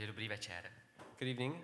Takže dobrý večer. Good evening.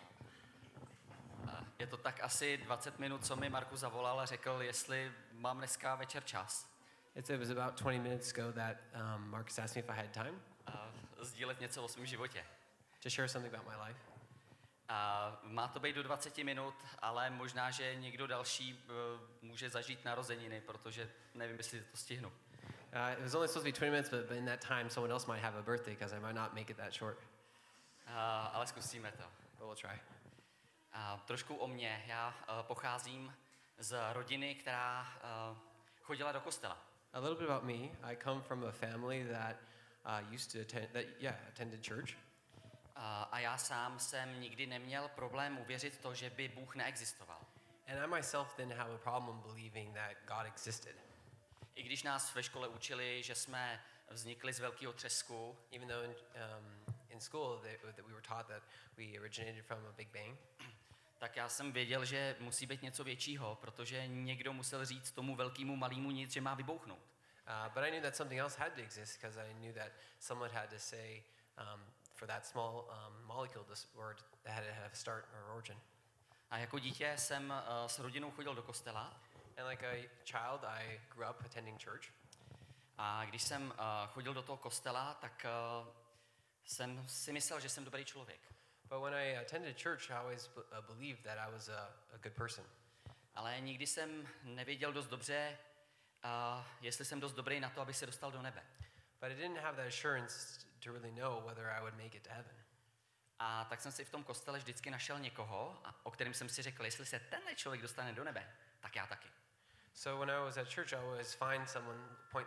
Je to tak asi 20 minut, co mi Markus zavolal a řekl, jestli mám dneska večer čas. It was about 20 minutes ago that Marcus asked me if I had time Sdílet něco o svém životě. to share something about my life. Má to být do 20 minut, ale možná, že někdo další může zažít narozeniny, protože nevím, jestli to stihnu. It was only supposed to be 20 minutes, but in that time, someone else might have a birthday because I might not make it that short. Ale zkusíme to. But we'll try. Trošku o mně. Já pocházím z rodiny, která chodila do kostela. A little bit about me. I come from a family that used to attended church. A já sám jsem nikdy neměl problém uvěřit to, že by Bůh neexistoval. And I myself didn't have a problem believing that God existed. I když nás ve škole učili, že jsme vznikli z velkého třesku, Even though in school that we were taught that we originated from a Big Bang, tak já jsem věděl, že musí být něco většího, protože někdo musel říct tomu velkému malému nic, že má vybouchnout. but I knew that something else had to exist because I knew that someone had to say for that small molecule, this word, that had to have a start or origin. A jako dítě jsem s rodinou chodil do kostela. And like a child, I grew up attending church. A když jsem chodil do toho kostela, tak jsem si myslel, že jsem dobrý člověk. But when I attended church, I always believed that I was a good person. Ale nikdy jsem nevěděl dost dobře, jestli jsem dost dobrý na to, aby se dostal do nebe. But I didn't have that assurance to really know whether I would make it to heaven. A tak jsem si v tom kostele vždycky našel někoho, o kterém jsem si řekl, jestli se tenhle člověk dostane do nebe, tak já taky. So when I was at church, I always find someone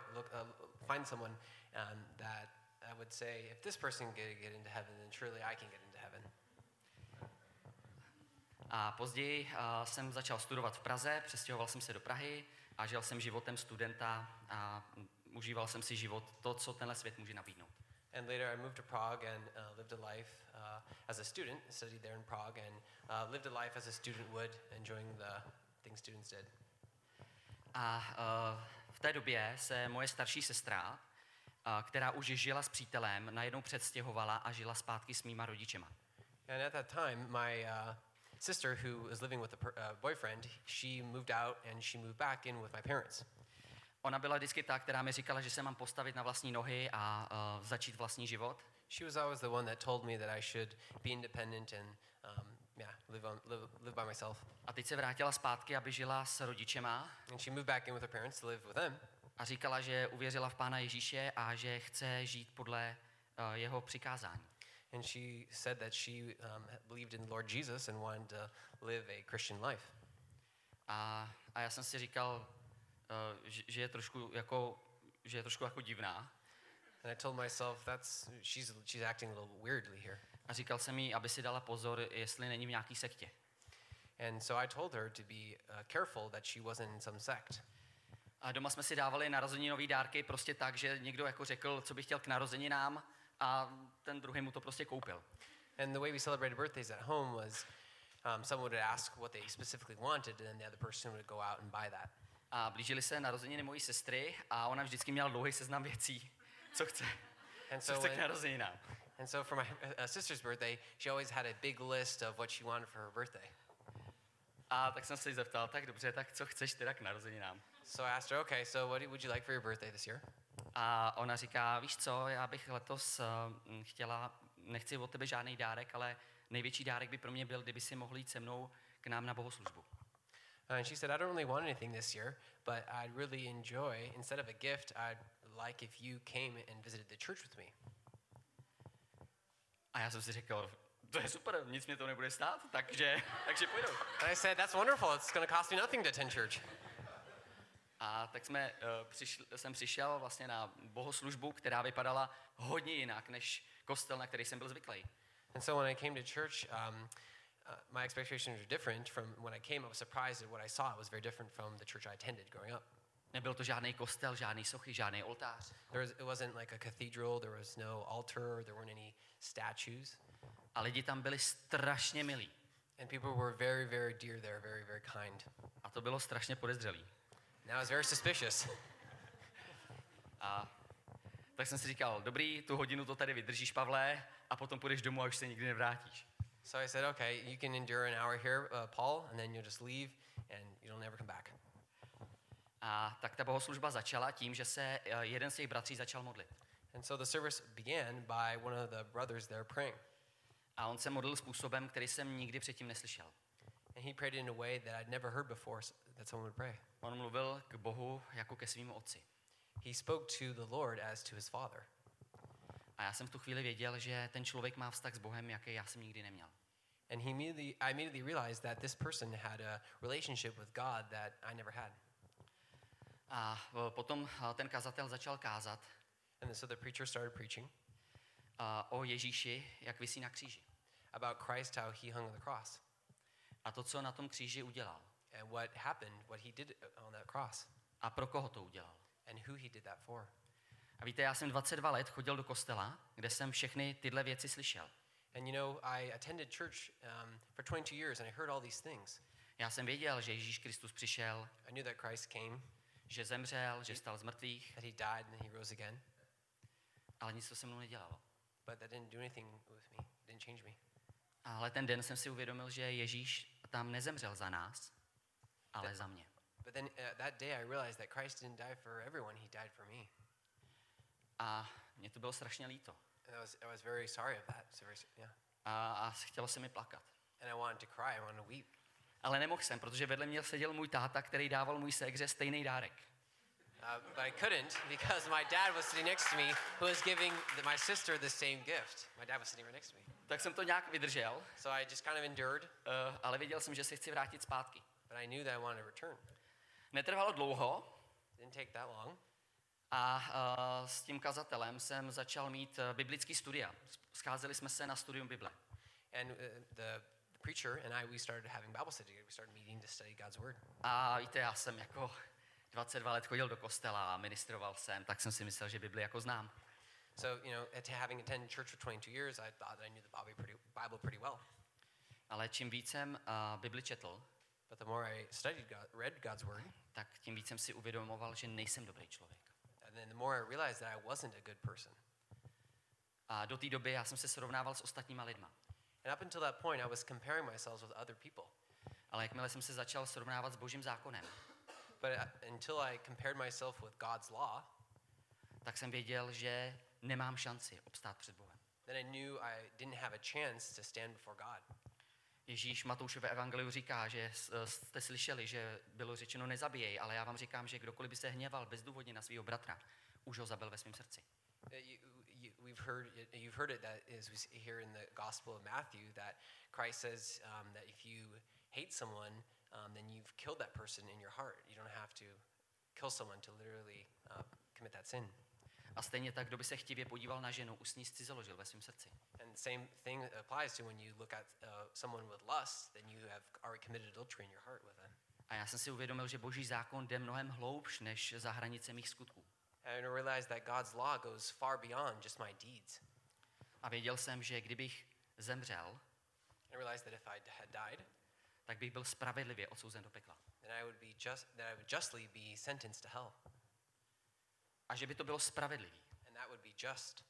that I would say, if this person can get into heaven, then surely I can get into heaven. A později jsem začal studovat v Praze, přestěhoval jsem se do Prahy a žil jsem životem studenta a užíval jsem si život, to, co tenhle svět může nabídnout. And later I moved to Prague and lived a life as a student, studied there in Prague, and lived a life as a student would, enjoying the things students did. A v té době se moje starší sestra, která už žila s přítelem, najednou přestěhovala a žila zpátky s mýma rodičema. And at that time, my sister, who was living with a boyfriend, she moved out and she moved back in with my parents. Ona byla vždycky ta, která mi říkala, že se mám postavit na vlastní nohy a začít vlastní život. She was always the one that told me that I should be independent and live by myself. A teď se vrátila zpátky, aby žila s rodičema. And she moved back in with her parents to live with them. A říkala, že uvěřila v Pána Ježíše a že chce žít podle jeho přikázání. And she said that she believed in the Lord Jesus and wanted to live a Christian life. A já jsem si říkal, že je trošku jako divná. And I told myself she's acting a little weirdly here. A říkal jsem jí, aby si dala pozor, jestli není v nějaký sektě. And so I told her to be careful that she wasn't in some sect. A doma jsme si dávali narozeninový dárky prostě tak, že někdo jako řekl, co by chtěl k narozeninám a ten druhý mu to prostě koupil. And the way we celebrated birthdays at home was someone would ask what they specifically wanted and then the other person would go out and buy that. A blížily se narozeniny mojí sestry a ona vždycky měla dlouhý seznam věcí, co chce k narozeninám. And so for my sister's birthday, she always had a big list of what she wanted for her birthday. A tak jsem se jí zeptal, tak dobře, tak co chceš teda k narozeninám? So I asked her, okay, so what would you like for your birthday this year? A ona říká, víš co, já bych letos nechci od tebe žádný dárek, ale největší dárek by pro mě byl, kdyby si mohl jít se mnou k nám na bohoslužbu. And she said, I don't really want anything this year, but I'd really enjoy, instead of a gift, I'd like if you came and visited the church with me. A já jsem si řekl, to je super, nic mě to nebude stát, takže půjdu. And I said, that's wonderful, it's going to cost me nothing to attend church. A tak jsem přišel vlastně na bohoslužbu, která vypadala hodně jinak než kostel, na který jsem byl zvyklý. And so when I came to church, my expectations were different from when I came. I was surprised at what I saw. It was very different from the church I attended growing up. Nebyl to žádný kostel, žádný sochy, žádný oltář. It wasn't like a cathedral. There was no altar. There weren't any statues. A lidi tam byli strašně milí. And people were very, very dear there, very, very kind. A to bylo strašně podezřelý. And I was very suspicious. A Tak jsem si říkal, dobrý, tu hodinu to tady vydržíš, Pavle, a potom půjdeš domů a už se nikdy nevrátíš. So I said, okay, you can endure an hour here, Paul, and then you'll just leave and you'll never come back. A tak ta bohoslužba začala tím, že se jeden z těch bratří začal modlit. And so the service began by one of the brothers there praying. A on se modlil způsobem, který jsem nikdy předtím neslyšel. And he prayed in a way that I'd never heard before that someone would pray. On mluvil k Bohu jako ke svému otci. He spoke to the Lord as to his father. A já jsem v tu chvíli věděl, že ten člověk má vztah s Bohem, jaký já jsem nikdy neměl. And I immediately realized that this person had a relationship with God that I never had. A potom ten kazatel začal kázat And so the preacher started preaching o Ježíši, jak visí na kříži. about Christ, how he hung on the cross. A to, co na tom kříži udělal. And what happened, what he did on that cross. A pro koho to udělal. And who he did that for. A víte, já jsem 22 let chodil do kostela, kde jsem všechny tyhle věci slyšel. And you know, I attended church for 22 years and I heard all these things. Já jsem věděl, že Ježíš Kristus přišel, I knew that Christ came, že zemřel, že vstal z mrtvých, that he died and he rose again. ale nic to se mnou nedělalo. But that didn't do anything with me, didn't change me. Ale ten den jsem si uvědomil, že Ježíš tam nezemřel za nás, ale za mě. But then that day I realized that Christ didn't die for everyone, he died for me. A mě to bylo strašně líto. And I was very sorry of that. So yeah. A chtělo se mi plakat. And I wanted to cry, I wanted to weep. Ale nemohl jsem, protože vedle mě seděl můj táta, který dával můj ségře stejný dárek. But I couldn't because my dad was sitting next to me who was giving my sister the same gift. My dad was sitting right next to me. Tak jsem to nějak vydržel, So I just kind of endured, ale věděl jsem, že se chci vrátit zpátky. but I knew that I wanted to return. Netrvalo dlouho Didn't take that long. a s tím kazatelem jsem začal mít biblický studia. Scházeli jsme se na studium Bible. And the preacher and I, we started having Bible study together. We started meeting to study God's word. A víte, já jsem jako 22 let chodil do kostela a ministroval jsem, tak jsem si myslel, že Bibli jako znám. So, you know, having attended church for 22 years, I thought that I knew the Bible pretty well. Ale čím víc jsem Bibli četl, But the more I read God's word, tak tím víc jsem si uvědomoval, že nejsem dobrý člověk. and then the more I realized that I wasn't a good person. A do té doby já jsem se srovnával s ostatníma lidma. And up until that point, I was comparing myself with other people. Ale jakmile jsem se začal srovnávat s Božím zákonem, But until I compared myself with God's law, tak jsem věděl, že nemám šanci obstát před Bohem. then I knew I didn't have a chance to stand before God. Ježíš Matoušové evangeliu říká, že jste slyšeli, že bylo řečeno nezabijej, ale já vám říkám, že kdokoliv by se hněval bezdůvodně na svého bratra, už ho zabil ve svém srdci. You've heard it that is we see here in the Gospel of Matthew that Christ says that if you hate someone, then you've killed that person in your heart. You don't have to kill someone to literally commit that sin. A stejně tak, kdo by se chtivě podíval na ženu, už s ní zcizoložil ve svém srdci. And the same thing applies to when you look at someone with lust, then you have already committed adultery in your heart with them. A já jsem si uvědomil, že Boží zákon jde mnohem hloubš než za hranice mých skutků. And I realized that God's law goes far beyond just my deeds. A věděl jsem, že kdybych zemřel, And I realized that if I had died, tak bych byl spravedlivě odsouzen do pekla. then I would justly be sentenced to hell. A že by to bylo spravedlivý. And that would be just.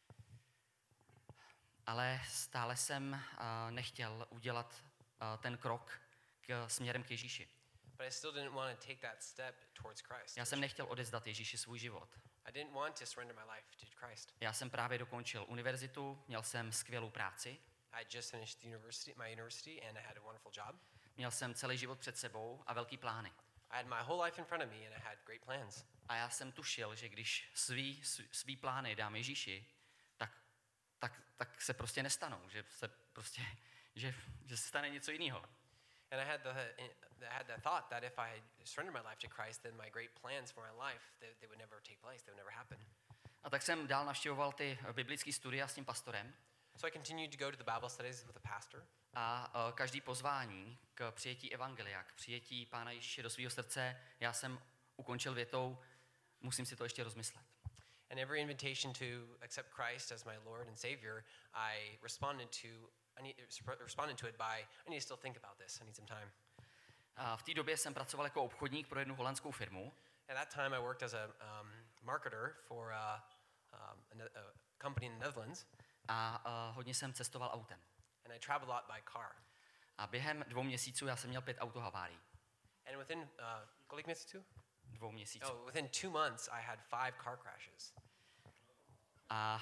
Ale stále jsem nechtěl udělat ten krok směrem k Ježíši. But I still didn't want to take that step towards Christ. Já jsem nechtěl odevzdat Ježíši svůj život. I didn't want to surrender my life to Christ. Já jsem právě dokončil univerzitu, měl jsem skvělou práci, I just finished my university and I had a wonderful job. měl jsem celý život před sebou a velký plány. I had my whole life in front of me and I had great plans. A já jsem tušil, že když svý plány dám Ježíši, tak se prostě nestanou, že se stane něco jiného. And I had the thought that if I surrendered my life to Christ, then my great plans for my life, they would never take place, they would never happen. A tak jsem dál navštěvoval ty biblické studia s tím pastorem. So I continued to go to the Bible studies with the pastor. A každý pozvání k přijetí evangelia, k přijetí Pána Ježíše do svého srdce, já jsem ukončil větou, musím si to ještě rozmyslet. And every invitation to accept Christ as my Lord and Savior, I responded to it by, I need to still think about this, I need some time. A v té době jsem pracoval jako obchodník pro jednu holandskou firmu. At that time I worked as a marketer for a company in the Netherlands, a hodně jsem cestoval autem. and I traveled a lot by car. A během 2 měsíců já jsem měl 5 autohavárií. And within, kolik měsíců? 2 měsíců. Oh, within 2 months, I had 5 car crashes. A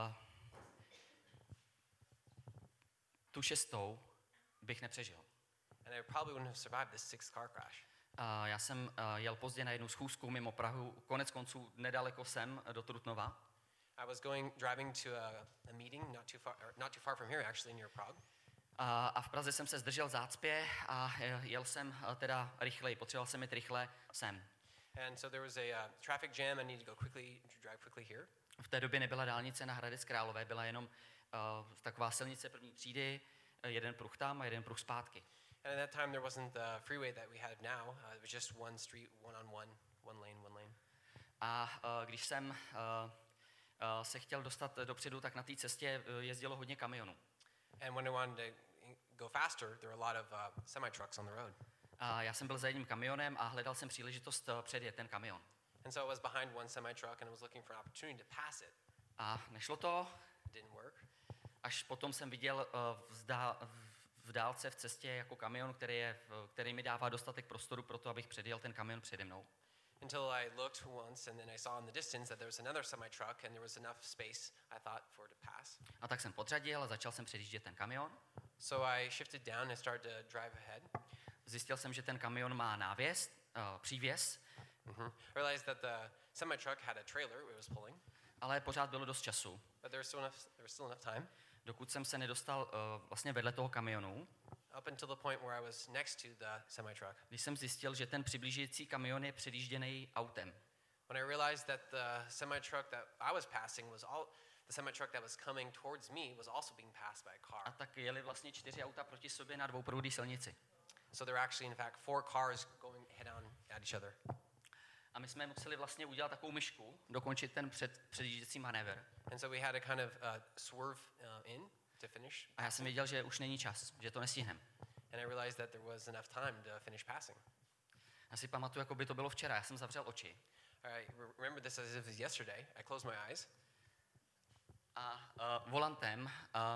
tu 6. bych nepřežil. And I probably wouldn't have survived this 6th car crash. Já jsem jel pozdě na jednu schůzku mimo Prahu, konec konců nedaleko sem do Trutnova. I was driving to a meeting not too far from here, actually near Prague. A v Praze jsem se zdržel v zácpě a jel jsem teda rychleji, potřeboval jsem jít rychle sem. And so there was a traffic jam. I needed to drive quickly here. V té době nebyla dálnice na Hradec Králové, byla jenom taková silnice první třídy, jeden pruh tam a jeden pruh zpátky. And at that time there wasn't the freeway that we have now. It was just one street, one lane. A když jsem se chtěl dostat dopředu, tak na té cestě jezdilo hodně kamionů. And when I wanted to go faster, there were a lot of semi-trucks on the road. A já jsem byl za jedním kamionem a hledal jsem příležitost předjet ten kamion. And so I was behind one semi-truck and I was looking for an opportunity to pass it. A nešlo to, It didn't work. až potom jsem viděl v dálce v cestě jako kamion, který mi dává dostatek prostoru pro to, abych předjel ten kamion přede mnou. Until I looked once and then I saw in the distance that there was another semi-truck and there was enough space, I thought, for it to pass. A tak jsem podřadil a začal jsem předjíždět ten kamion. So I shifted down and started to drive ahead. Zjistil jsem, že ten kamion má návěs, přívěs, I realized that the semi-truck had a trailer it was pulling, ale pořád bylo dost času, but there was still enough time dokud jsem se nedostal vlastně vedle toho kamionu, up until the point where I was next to the semi-truck. když jsem zjistil, že ten přiblížující kamion je předjížděný autem. When I realized that the semi-truck that I was passing the semi-truck that was coming towards me was also being passed by a A car. tak jeli vlastně 4 auta proti sobě na dvouproudé silnici. So there were actually, in fact, 4 cars going head-on at each other. A my jsme museli vlastně udělat takovou myšku, dokončit ten předjížděcí manévr. And so we had to kind of swerve in to finish. A já jsem věděl, že už není čas, že to nestihneme. And I realized that there was enough time to finish passing. Já si pamatuju, jako by to bylo včera. Já jsem zavřel oči. I remember this as if it was yesterday. I closed my eyes. A volantem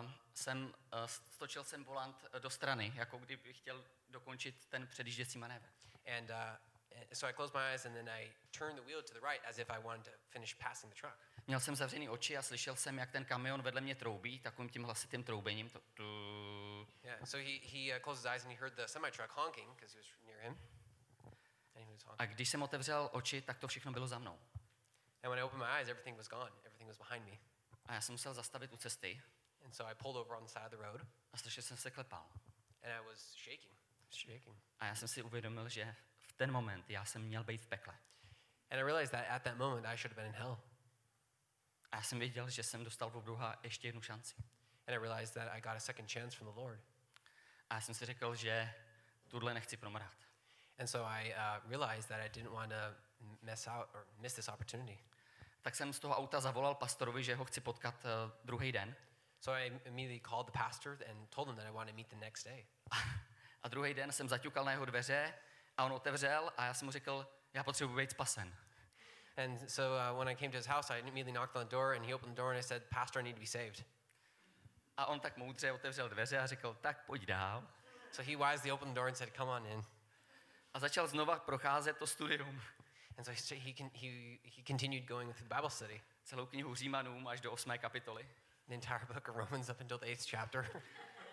stočil jsem volant do strany, jako kdybych chtěl dokončit ten předjížděcí manévr. And so I closed my eyes and then I turned the wheel to the right as if I wanted to finish passing the truck. Měl jsem zavřený oči a slyšel jsem, jak ten kamion vedle mě troubí, takovým tím hlasitým troubením. Yeah, so he closed his eyes and he heard the semi-truck honking because he was near him. And he was honking. A když jsem otevřel oči, tak to všechno bylo za mnou. And when I opened my eyes, everything was gone. Everything was behind me. A já jsem musel zastavit u cesty And so I pulled over on the side of the road a strašně jsem se klepal. and I was shaking. A já jsem si uvědomil, že v ten moment já jsem měl být v pekle. And I realized that at that moment I should have been in hell. A já jsem věděl, že jsem dostal od Boha ještě jednu šanci. And I realized that I got a second chance from the Lord. A já jsem si řekl, že tuhle nechci promrhat. And so I realized that I didn't want to miss this opportunity. Tak jsem z toho auta zavolal pastorovi, že ho chci potkat druhý den. So I immediately called the pastor and told him that I wanted to meet the next day. A druhý den jsem zaťukal na jeho dveře a on otevřel a já jsem mu řekl, já potřebuji být spasen. And so when I came to his house, I immediately knocked on the door and he opened the door and I said, Pastor, I need to be saved. A on tak moudře otevřel dveře a řekl, tak pojď dál. So he wisely opened the door and said, come on in. A začal znova procházet to studium. And so he continued going through the Bible study, Celou knihu Římanům až do 8. kapitoly. the entire book of Romans up until the 8th chapter.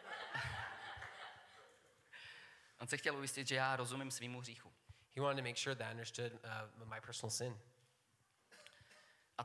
On se chtěl ujistit, že já rozumím svýmu hříchu. He wanted to make sure that I understood my personal sin. A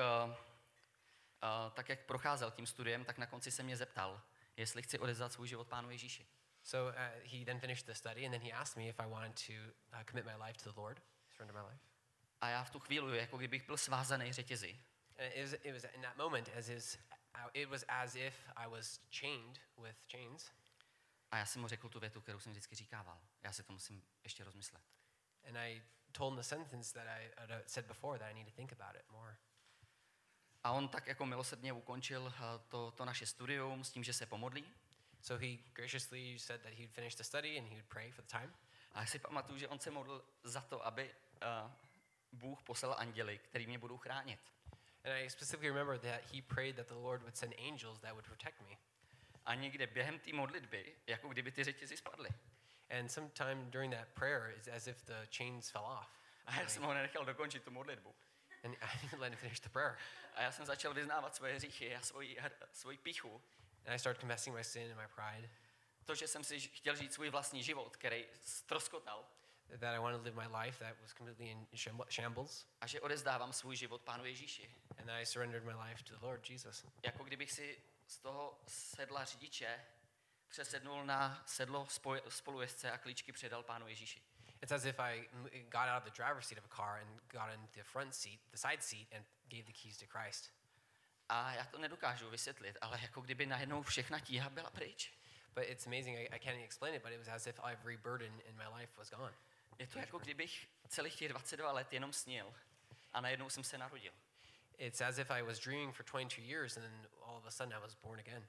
tak jak procházel tím studiem, tak na konci se mě zeptal, jestli chci odevzdat svůj život Pánu Ježíši. So he then finished the study and then he asked me if I wanted to commit my life to the Lord, surrender my life. A já v tu chvíli, jako kdybych byl svázaný řetězy. And it was in that moment it was as if I was chained with chains. A já jsem mu řekl tu větu, kterou jsem vždycky říkával. Já si to musím ještě rozmyslet. And I told him the sentence that I said before, that I need to think about it more. A on tak jako milosrdně ukončil to naše studium s tím, že se pomodlí. So he graciously said that he would finish the study and he would pray for the time. A já si pamatuju, že on se modlil za to, aby Bůh poslal anděly, který mě budou chránit. And I specifically remember that he prayed that the Lord would send angels that would protect me. A někde během té modlitby, jako kdyby ty řetězy spadly. And sometime during that prayer, it's as if the chains fell off. A já jsem ho nenechal dokončit tu modlitbu. And I didn't let him finish the prayer. A já jsem začal vyznávat svoje hříchy a svoji píchu. And I started confessing my sin and my pride. To, že jsem si chtěl žít svůj vlastní život, který ztroskotal. That I wanted to live my life that was completely in shambles. A že odezdávám svůj život Pánu Ježíši. And I surrendered my life to the Lord Jesus. Jako kdybych si z toho sedla řidiče přesednul na sedlo spolujezdce a klíčky předal Pánu Ježíši. It's as if I got out of the driver's seat of a car and got into the front seat, the side seat, and gave the keys to Christ. A já to nedokážu vysvětlit, ale jako kdyby najednou všechna tíha byla pryč. But it's amazing, I can't even explain it, but it was as if every burden in my life was gone. Je to jako kdybych celých těch 22 let jenom snil a najednou jsem se narodil. It's as if I was dreaming for 22 years and then all of a sudden I was born again.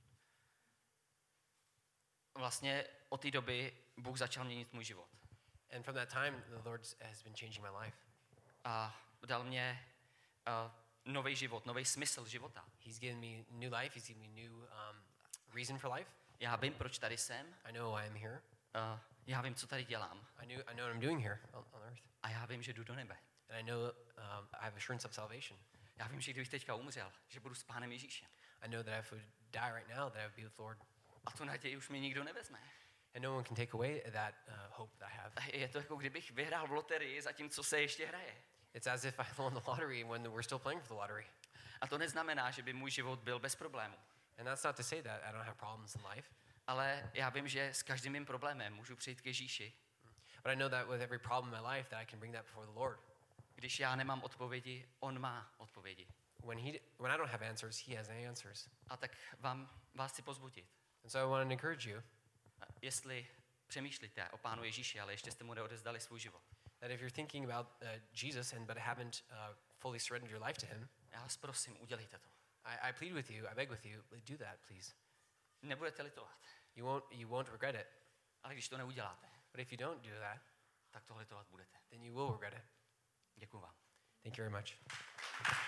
Vlastně od té doby Bůh začal měnit můj život. And from that time, the Lord has been changing my life. A dal mě nový život, nový smysl života. He's given me new life. He's given me new reason for life. Já vím, proč tady jsem. I know why I'm here. Já vím, co tady dělám. I know what I'm doing here on earth. A já vím, že jdu do nebe. And I know I have assurance of salvation. Já vím, že kdybych teďka umřel, že budu s Pánem Ježíšem. I know that if I would die right now, that I would be with the Lord. A tu naději už mi nikdo nevezme. And no one can take away that hope that I have. Je to jako kdybych vyhrál v loterii, zatímco se ještě hraje. It's as if I won the lottery when we're still playing for the lottery. A to neznamená, že by můj život byl bez problémů. And that's not to say that I don't have problems in life. Ale já vím, že s každým mým problémem můžu přijít k Ježíši. But I know that with every problem in my life that I can bring that before the Lord. Když já nemám odpovědi, on má odpovědi. When I don't have answers, he has answers. A tak vás chci pozbudit. And so I want to encourage you Jestli přemýšlíte o Pánu Ježíši, ale ještě jste mu neodezdali svůj život. that if you're thinking about Jesus but haven't fully surrendered your life to him, Já vás prosím, udělejte to. I plead with you, I beg with you, do that, please. Nebudete litovat. You won't regret it. Ale když to neuděláte, But if you don't do that, tak to litovat budete. then you will regret it. Děkuju vám. Thank you very much.